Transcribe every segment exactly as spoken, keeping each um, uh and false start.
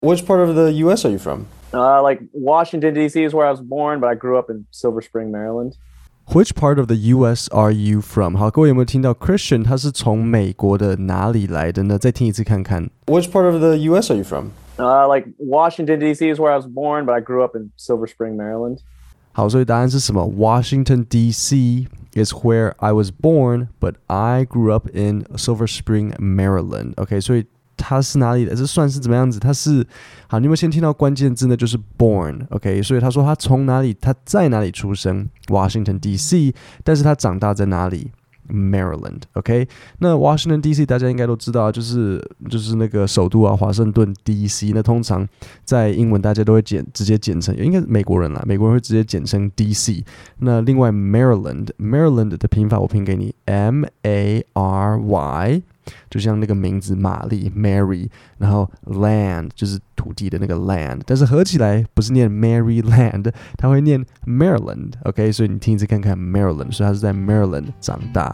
Which part of the U S are you from? Uh, like Washington, D C is where I was born, but I grew up in Silver Spring, Maryland. Which part of the U S are you from? 好，各位有没有听到 Christian 他是从美國的哪裡來的呢？再聽一次看看。Which part of the U S are you from? Uh, like Washington, D C is where I was born, but I grew up in Silver Spring, Maryland. 好，所以答案是什麼 ？Washington D C is where I was born, but I grew up in Silver Spring, Maryland. OK， 所以它是哪裡的？這算是怎麼樣子？它是好，你有沒有先聽到關鍵字呢？就是 born。OK， 所以他說他從哪裡，他在哪裡出生 ？Washington D C， 但是他長大在哪裡？Maryland，OK，、okay? 那 Washington D C 大家應該都知道，就是就是那個首都啊，華盛頓 D C。那通常在英文大家都會簡直接簡稱，應該是美國人啦，美國人會直接簡稱 D C。那另外 Maryland，Maryland 的拼法我拼給你 M A R Y， 就像那個名字瑪麗 Mary， 然後 land 就是土地的那個 land， 但是合起來不是念 Maryland， 它會念 Maryland，OK，、okay? 所以你聽一次看看 Maryland， 所以它是在 Maryland 長大。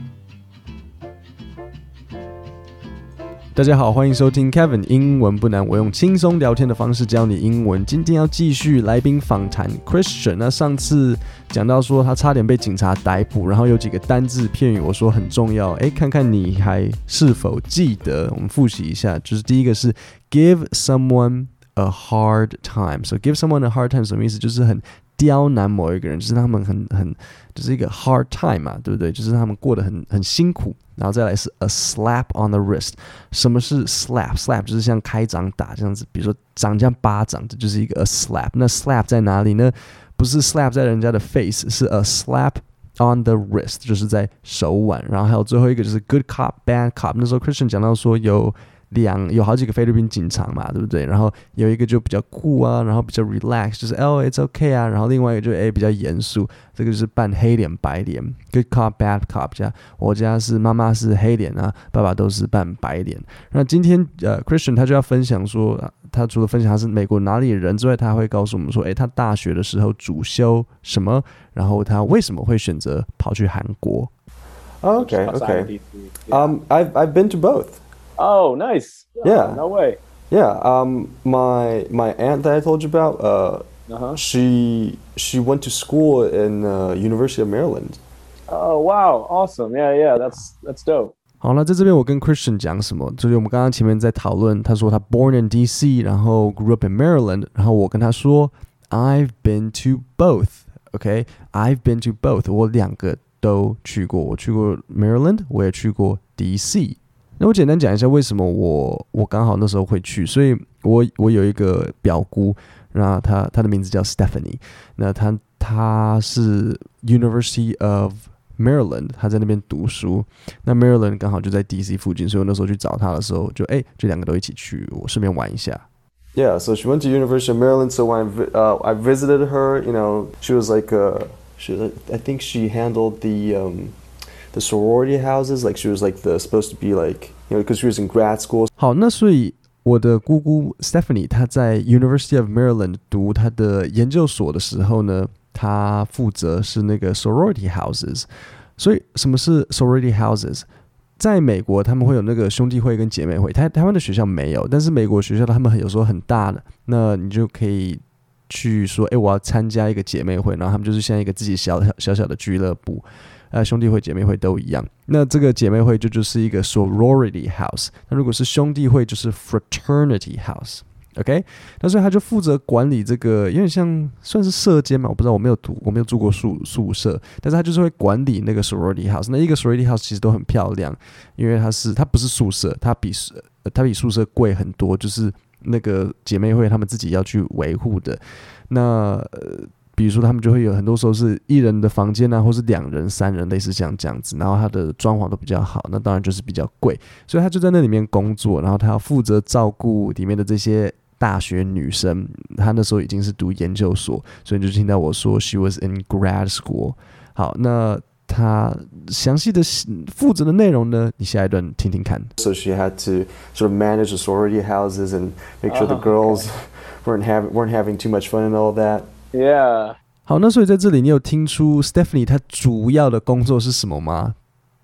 大家好，歡迎收聽 Kevin 英文不難，我用輕鬆聊天的方式教你英文。今天要繼續來賓訪談 Christian。那上次講到說他差點被警察逮捕，然後有幾個單字片語我說很重要，誒，看看你還是否記得？我們複習一下，就是第一個是 give someone a hard time。So give someone a hard time 什麼意思？就是很刁難某一個人，就是他們很很就是一個 hard time 嘛，對不對？就是他們過得很很辛苦。然後再來是 a slap on the wrist。什麼是 slap？ slap 就是像開掌打這樣子，比如說掌這樣巴掌，這就是一個 a slap。那 slap 在哪裡呢？不是 slap 在人家的 face， 是 a slap on the wrist， 就是在手腕。然後還有最後一個就是 good cop bad cop。那時候 Christian 講到說有兩有好幾個菲律賓警察嘛，對不對？然後有一個就比較酷啊，然後比較 relax， 就是哦 it's okay 啊。然後另外一個就哎比較嚴肅，這個就是扮黑臉白臉 ，good cop bad cop 家。我家是媽媽是黑臉啊，爸爸都是扮白臉。那今天呃 Christian 他就要分享說，他除了分享他是美國哪裡的人之外，他還會告訴我們說，哎，他大學的時候主修什麼，然後他為什麼會選擇跑去韓國。Okay, okay. Um, I've I've been to both.Oh, nice. Yeah. Oh, no way. Yeah. Um, my my aunt that I told you about, uh, uh-huh. she she went to school in uh, University of Maryland. Oh, wow. Awesome. Yeah, yeah. That's that's dope. 好，那在這邊我跟 Christian 講什麼？就是我們剛剛前面在討論，他說他 born in D C， 然後 grew up in Maryland， 然後我跟他說 I've been to both. OK, I've been to both. 我兩個都去過，我去過 Maryland， 我也去過 D C。那我簡單講一下為什麼我我剛好那時候會去，所以我我有一個表姑，那她她的名字叫 Stephanie， 那她她是 University of Maryland， 她在那邊讀書，那 Maryland 剛好就在 D C 附近，所以我那時候去找她的時候就哎就兩個都一起去，我順便玩一下。Yeah, so she went to University of Maryland. So when I, uh, I visited her, you know, she was like, uh, she I think she handled the um.The sorority houses, like she was like the supposed to be like, you know, because she was in grad school. 好，那所以我的姑姑 Stephanie 她在 University of Maryland 讀她的研究所的時候呢，她負責是那個 sorority houses。所以什麼是 sorority houses？ 在美國他們會有那個兄弟會跟姐妹會，台台灣的學校沒有，但是美國學校他們有時候很大的，那你就可以去說，哎，我要參加一個姐妹會，然後他們就是像一個自己小小小的俱樂部。呃，兄弟會、姐妹會都一樣。那這個姐妹會就就是一個 sorority house。那如果是兄弟會，就是 fraternity house。OK， 那所以他就負責管理這個，有點像算是舍監嘛，我不知道，我沒有讀，我沒有住過宿宿舍，但是他就是會管理那個 sorority house。那一個 sorority house 其實都很漂亮，因為它是它不是宿舍，它比它比宿舍貴很多，就是那個姐妹會他們自己要去維護的。那呃。比如說他們就會有很多時候是一人的房間啊，或是兩人、三人，類似像這樣子，然後他的裝潢都比較好，那當然就是比較貴，所以他就在那裡面工作，然後他要負責照顧裡面的這些大學女生。他那時候已經是讀研究所，所以你就聽到我說 she was in grad school。好，那他詳細的負責的內容呢，你下一段聽聽看。So she had to sort of manage the sorority houses and make sure the girls weren't having weren't having too much fun and all that.Yeah. 好，那所以在這裡你有聽出 Stephanie 她主要的工作是什麼嗎？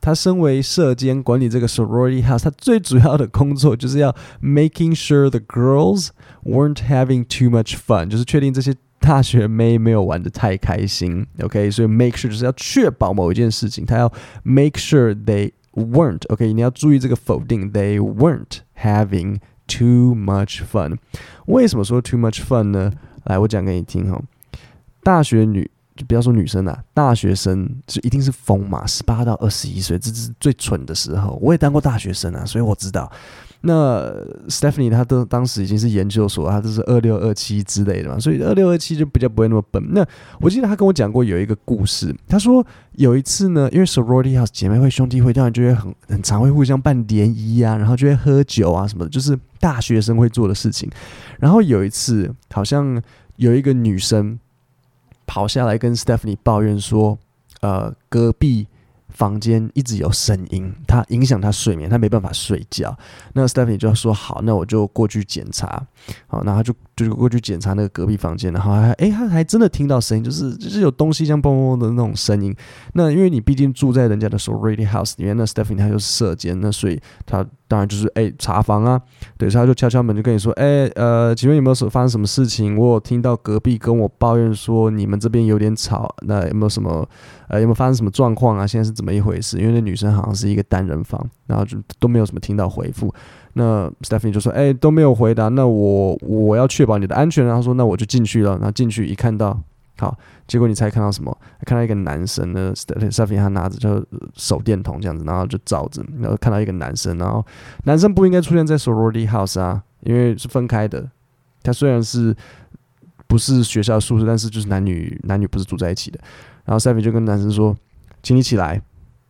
他身為舍監管理這個 sorority house，他最主要的工作就是要 making sure the girls weren't having too much fun， 就是確定這些大學妹沒有玩得太開心 ，OK， 所以 make sure 就是要確保某一件事情，他要 make sure they weren't，OK， 你要注意這個否定 ，they weren't having too much fun。為什麼說 too much fun 呢？來，我講給你聽哈。大學女，就不要說女生啦，大學生就一定是瘋嘛，十八到二十一歲，這是最蠢的時候。我也當過大學生啊，所以我知道。那 Stephanie 她都當時已經是研究所，她都是二六二七之類的嘛，所以二六二七就比較不會那麼笨。那我記得她跟我講過有一個故事，她說有一次呢，因為 sorority house 姐妹會兄弟會，當然就會很很常會互相辦聯誼啊，然後就會喝酒啊什麼的，就是大學生會做的事情。然後有一次好像有一個女生跑下來跟 Stephanie 抱怨說，呃，隔壁房間一直有聲音，它影響他睡眠，他沒辦法睡覺。那 Stephanie 就說好，那我就過去檢查。好，然後他就就過去檢查那個隔壁房間，然後還哎，他還真的聽到聲音，就是就是有東西像砰砰的那種聲音。那因為你畢竟住在人家的 sorority house 裡面，那 Stephanie 他就是舍監，那所以他當然就是哎查房啊，對，所以他就敲敲門就跟你說，哎呃，請問有沒有發生什麼事情？我有聽到隔壁跟我抱怨說你們這邊有點吵，那有沒有什麼呃有沒有發生什麼狀況啊？現在是怎麼一回事？因為那女生好像是一個單人房，然後就都沒有什麼聽到回復。那 Stephanie 就說：“哎、欸，都沒有回答，那我我要確保你的安全。”然後說：“那我就進去了。”然後進去一看到，好，結果你猜看到什麼？看到一個男生呢 ，Stephanie 他拿着就手電筒這樣子，然後就照着，然後看到一個男生，然後男生不應該出現在 sorority house 啊，因為是分開的。他雖然是不是學校宿舍，但是就是男女男女不是住在一起的。然後 Stephanie 就跟男生說：“請你起來。”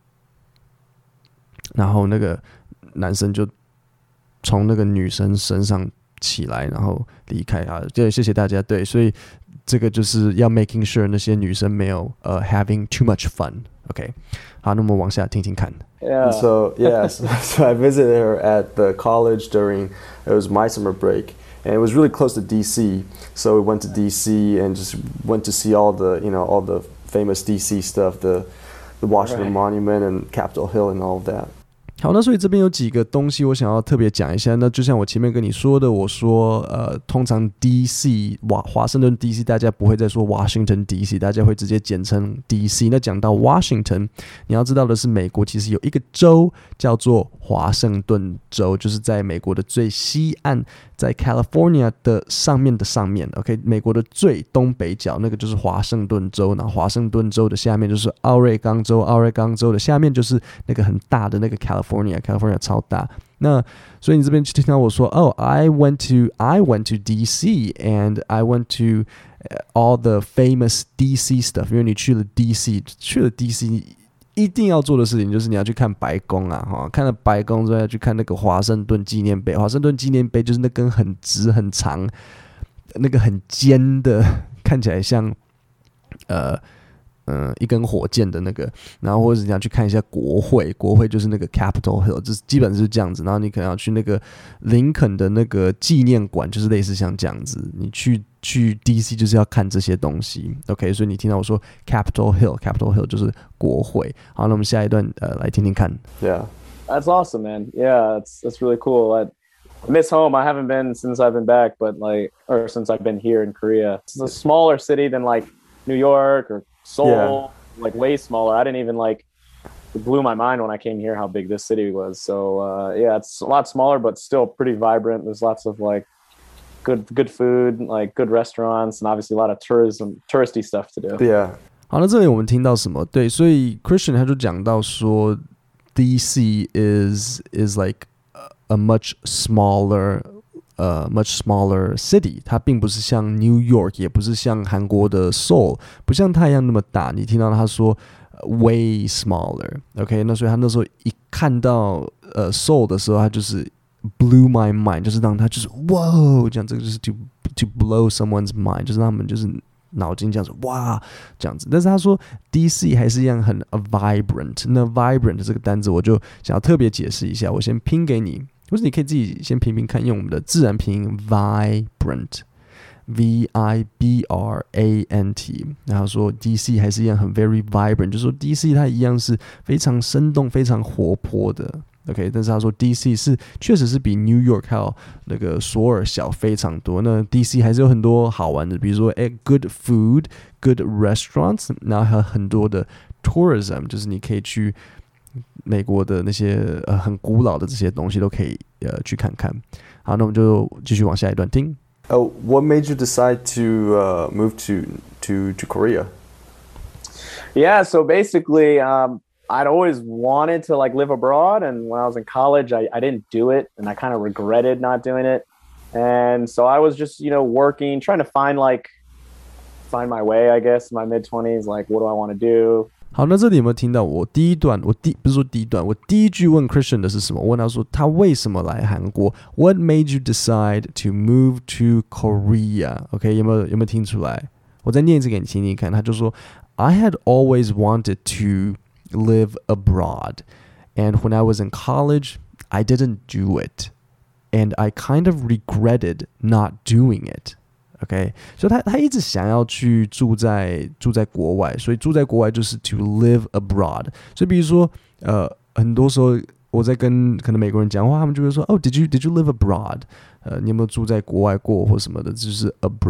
然後那個男生就從那個女生身上起來，然後離開啊。對，謝謝大家。對，所以這個就是要 making sure 那些女生沒有呃、uh, having too much fun。OK， 好，那我們往下聽聽看。 Yeah. So yes, so I visited her at the college during it was my summer break, and it was really close to D C. So we went to D C and just went to see all the you know all the famous D C stuff, the the Washington right. Monument and Capitol Hill and all of that. 好，那所以這邊有幾個東西我想要特別講一下。那就像我前面跟你說的，我說呃，通常 D C 華華盛頓 D C 大家不會再說 Washington D C， 大家會直接簡稱 D C。那講到 Washington， 你要知道的是，美國其實有一個州叫做華盛頓州，就是在美國的最西岸，在 California 的上面的上面。OK， 美國的最東北角那個就是華盛頓州，然後華盛頓州的下面就是奧瑞岡州，奧瑞岡州的下面就是那個很大的那個 California，California California 超大。那所以你這邊就聽到我說，哦、oh, ，I went to I went to D C and I went to all the famous D C stuff。因為你去了 D C， 去了 D C， 一定要做的事情就是你要去看白宮啊，哈，看了白宮之後要去看那個華盛頓紀念碑。華盛頓紀念碑就是那根很直很長、那個很尖的，看起來像呃。嗯，一根火箭的那個，然後或者你要去看一下國會，國會就是那個 Capitol Hill， 就是基本是這樣子。然後你可能要去那個林肯的那個紀念館，就是類似像這樣子。你去去 D C 就是要看這些東西 ，OK？ 所以你聽到我說 Capitol Hill，Capitol Hill 就是國會。好，那我們下一段呃來聽聽看。 Yeah, that's awesome, man. Yeah, it's that's really cool. I miss home. I haven't been since I've been back, but like, or since I've been here in Korea. It's a smaller city than like New York or Seoul, yeah. Like way smaller. I didn't even like, it blew my mind when I came here how big this city was. So uh, yeah, it's a lot smaller, but still pretty vibrant. There's lots of like good good food, like good restaurants, and obviously a lot of tourism, touristy stuff to do. Yeah. 好，那這裡我們聽到什麼？對，所以 Christian 他就講到說 ，D C is is like a much smaller.呃、uh, much smaller city， 它並不是像 New York， 也不是像韓國的 Seoul， 不像它一樣那麼大。你聽到他說、uh, way smaller，OK，、okay? 那所以他那時候一看到呃 Seoul 的時候，他就是 blew my mind， 就是讓他就是哇，這樣這個就是 to to blow someone's mind， 就是讓他們就是腦筋這樣子哇這樣子。但是他說 D C 還是一樣很 vibrant， 那 vibrant 這個單字我就想要特別解釋一下，我先拼給你。或者你可以自己先拼拼看，用我們的自然拼音 vibrant V I B R A N T， 然後說 D C 還是一樣很 very vibrant， 就是說 D C 它一樣是非常生動、非常活潑的。OK， 但是他說 D C 是確實是比 New York 還有那個索爾小非常多。那 D C 還是有很多好玩的，比如說哎 good food、good restaurants， 然後還有很多的 tourism， 就是你可以去美國的那些呃很古老的這些東西都可以呃去看看。好，那我們就繼續往下一段聽。 Oh, what made you decide to uh, move to to to Korea? Yeah, so basically, um, I'd always wanted to like live abroad, and when I was in college, I, I didn't do it, and I kind of regretted not doing it. And so I was just, you know, working, trying to find like find my way, I guess, in my mid twenties. Like, what do I want to do? 好，那這裡有沒有聽到我第一段？我第不是說第一段，我第一句問 Christian 的是什麼？我問他說他為什麼來韓國 ？What made you decide to move to Korea? OK， 有沒有有沒有聽出來？我再念一次給你聽聽看。他就說 I had always wanted to live abroad, and when I was in college, I didn't do it, and I kind of regretted not doing it.OK， 所以他他一直想要去住在住在國外，所以住在國外就是 to live abroad。所以比如說，呃，很多時候我在跟可能美國人講話，他們就會說，哦 ，Did you Did you live abroad？ 呃，你有沒有住在國外過或什麼的？就是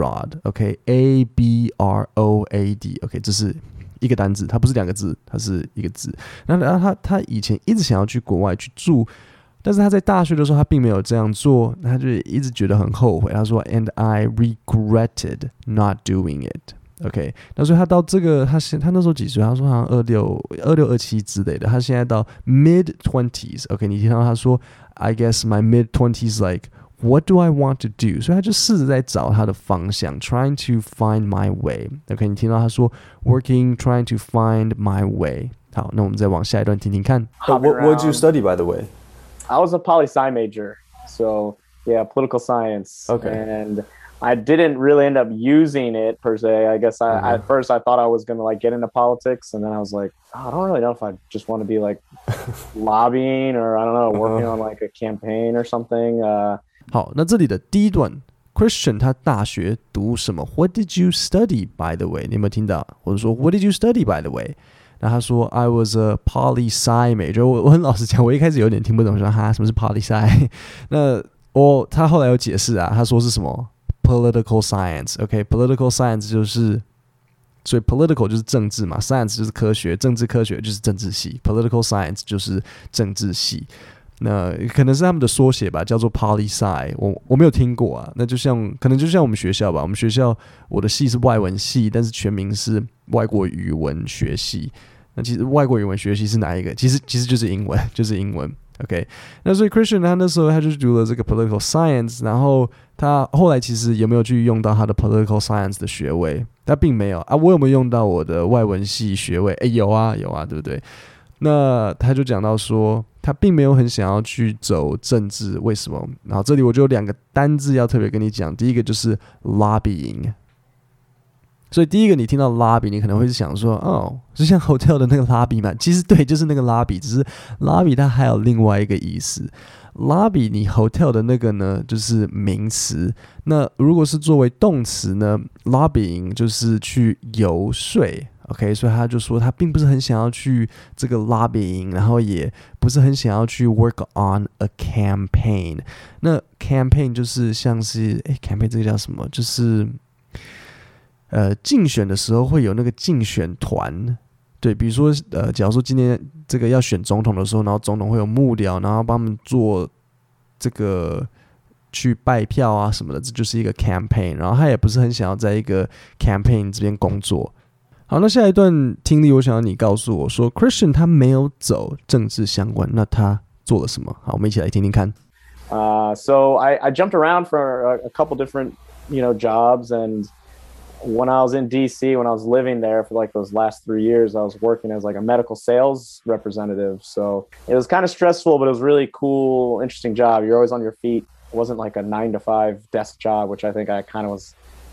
abroad。OK，A B R O A D。OK， 這是一個單字，它不是兩個字，它是一個字。那然後他他以前一直想要去國外去住。但是他在大學的時候，他並沒有這樣做，他就一直覺得很後悔。他說 ，And I regretted not doing it. OK， 那所以他到這個，他現他那時候幾歲？他說好像二六、二六、二七之類的。他現在到 mid twenties。OK， 你聽到他說 ，I guess my mid twenties like what do I want to do？ 所以他就試着在找他的方向 ，trying to find my way。OK， 你聽到他說 working, trying to find my way。好，那我們再往下一段聽聽看。 Oh, what what did you study, by the way?I was a poli-sci major, so yeah, political science. Okay. And I didn't really end up using it per se. I guess I, mm-hmm. at first I thought I was going to like get into politics, and then I was like, oh, I don't really know if I just want to be like lobbying or I don't know, working uh-huh. on like a campaign or something. Uh, 好，那這裡的第一段 ，Christian 他大學讀什麼 ？What did you study, by the way？ 你有沒有聽到？或者說 What did you study, by the way？然後他說 I was a poli-sci major， 我我很老實講，我一開始有點聽不懂，說哈什麼是 poli-sci？ 那我他後來有解釋啊，他說是什麼 political science。OK，political science 就是所以 political 就是政治嘛 ，science 就是科學，政治科學就是政治系 ，political science 就是政治系。那可能是他們的縮寫吧，叫做 poli-sci， 我我沒有聽過啊。那就像可能就像我們學校吧，我們學校我的系是外文系，但是全名是外國語文學系。那其實外國語文學系是哪一個？其實其實就是英文，就是英文。OK， 那所以 Christian 他那時候他就讀了這個 political science， 然後他後來其實有沒有去用到他的 political science 的學位？他並沒有啊。我有沒有用到我的外文系學位？誒，有啊，有啊，對不對？那他就講到說，他並沒有很想要去走政治，為什麼？然後這裡我就有兩個單字要特別跟你講，第一個就是 lobbying。所以第一個你聽到 lobby， 你可能會想說，哦，是像 hotel 的那個 lobby 嗎？其實對，就是那個 lobby， 只是 lobby 它還有另外一個意思。lobby 你 hotel 的那個呢，就是名詞。那如果是作為動詞呢 ，lobbying 就是去游說。OK， 所以他就說他並不是很想要去這個 lobbying， 然後也不是很想要去 work on a campaign。那 campaign 就是像是誒 campaign 這個叫什麼？就是呃競選的時候會有那個競選團，對，比如說呃，假如說今天這個要選總統的時候，然後總統會有幕僚，然後幫他們做這個去拜票啊什麼的，這就是一個 campaign。然後他也不是很想要在一個 campaign 這邊工作。好，那下一段聽力，我想要你告訴我說 ，Christian 他沒有走政治相關，那他做了什麼？好，我們一起來聽聽看。 Uh, so I, I jumped around for a, a couple different, you know, jobs, and when I was in D C, when I was living there for like those last three years, I was working as like a medical sales representative. So it was kind of stressful, but it was really cool, interesting job. You're always on your feet. It wasn't like a nine to five desk job, which I think I kind of was,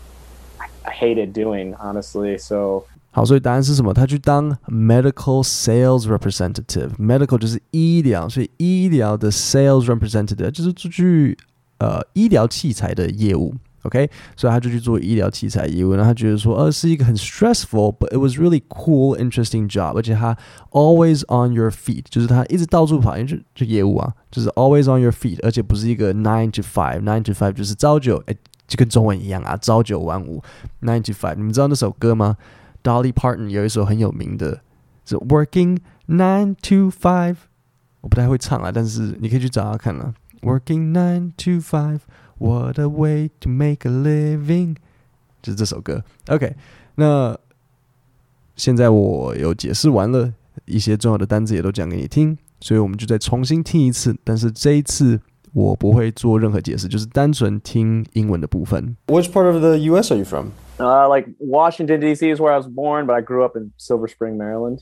I, I hated doing, honestly. So. 好，所以答案是什麼？他去當 medical sales representative。medical 就是醫療，所以醫療的 sales representative 就是出去呃醫療器材的業務。 OK， 所以他就去做醫療器材業務，然後他覺得說，呃，是一個很 stressful，but it was really cool, interesting job， 而且他 always on your feet， 就是他一直到處跑，因為就就業務啊，就是 always on your feet， 而且不是一個 nine to five， nine to five 就是朝九，哎，就跟中文一樣啊，朝九晚五 nine to five， 你們知道那首歌嗎？ Dolly Parton 有一首很有名的，是 Working nine to five， 我不太會唱啊，但是你可以去找他看啊。Working nine to five, what a way to make a living， 就是這首歌。OK， 那現在我有解釋完了，一些重要的單字也都講給你聽，所以我們就再重新聽一次。但是這一次我不會做任何解釋，就是單純聽英文的部分。 Which part of the U S are you from? Uh, like Washington, D C is where I was born, but I grew up in Silver Spring, Maryland.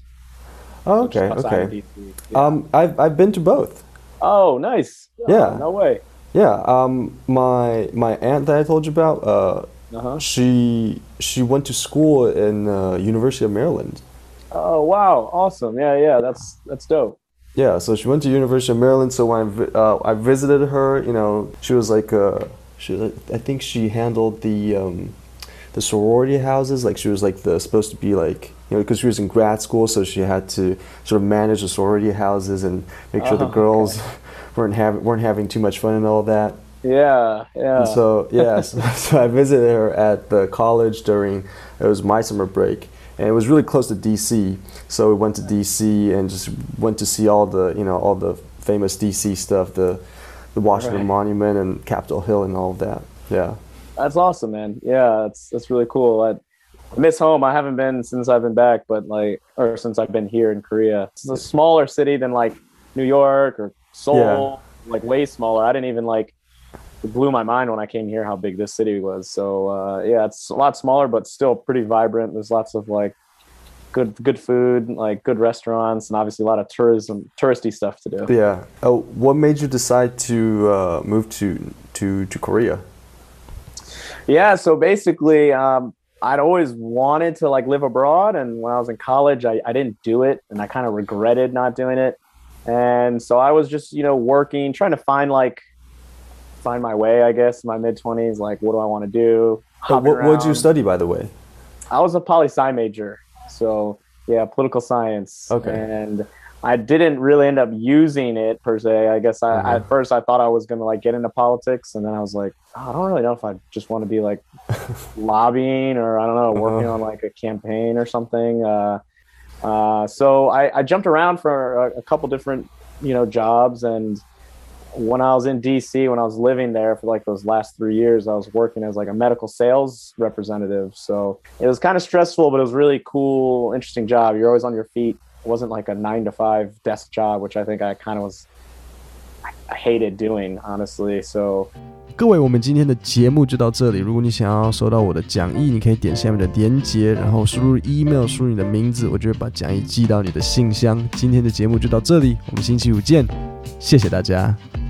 Oh, okay, okay. Yeah. Um, I've I've been to both. Oh, nice. Yeah. Oh, no way. Yeah. Um, my my aunt that I told you about. Uh, uh-huh. She she went to school in uh, University of Maryland. Oh wow! Awesome. Yeah, yeah. That's that's dope. Yeah. So she went to University of Maryland. So when I vi- uh, I visited her, you know, she was like uh, she I think she handled the um, the sorority houses. Like she was like the supposed to be like. You know, because she was in grad school, so she had to sort of manage the sorority houses and make sure oh, the girls okay. weren't having weren't having too much fun and all that. Yeah, yeah. And so yeah, so, so I visited her at the college during it was my summer break, and it was really close to D C. So we went to D C and just went to see all the you know all the famous D C stuff, the the Washington right. Monument and Capitol Hill and all of that. Yeah. That's awesome, man. Yeah, that's that's really cool. I, I miss home. I haven't been since I've been back, but like, or since I've been here in Korea. It's a smaller city than like New York or Seoul, yeah. like way smaller. I didn't even like, it blew my mind when I came here how big this city was. So uh, yeah, it's a lot smaller, but still pretty vibrant. There's lots of like good good food, like good restaurants, and obviously a lot of tourism, touristy stuff to do. Yeah. Oh, what made you decide to uh, move to to to Korea? Yeah. So basically. Um, I'd always wanted to like live abroad, and when I was in college, I, I didn't do it, and I kind of regretted not doing it. And so I was just, you know, working, trying to find like find my way, I guess, in my mid twenties. Like, what do I want to do? Oh, what what did you study, by the way? I was a poli-sci major, so yeah, political science. Okay. And I didn't really end up using it per se. I guess I, mm-hmm. at first I thought I was going to like get into politics, and then I was like, oh, I don't really know if I just want to be like lobbying or I don't know, working uh-huh. on like a campaign or something. Uh, uh, so I, I jumped around for a, a couple different, you know, jobs. And when I was in D C, when I was living there for like those last three years, I was working as like a medical sales representative. So it was kind of stressful, but it was really cool, interesting job. You're always on your feet. It wasn't like a nine to five desk job, which I think I kind of was, I hated doing, honestly. So. 各位，我們今天的節目就到這裡。如果你想要收到我的講義，你可以點下面的連結，然後輸入 email， 輸入你的名字，我就會把講義寄到你的信箱。今天的節目就到這裡，我們星期五見，謝謝大家。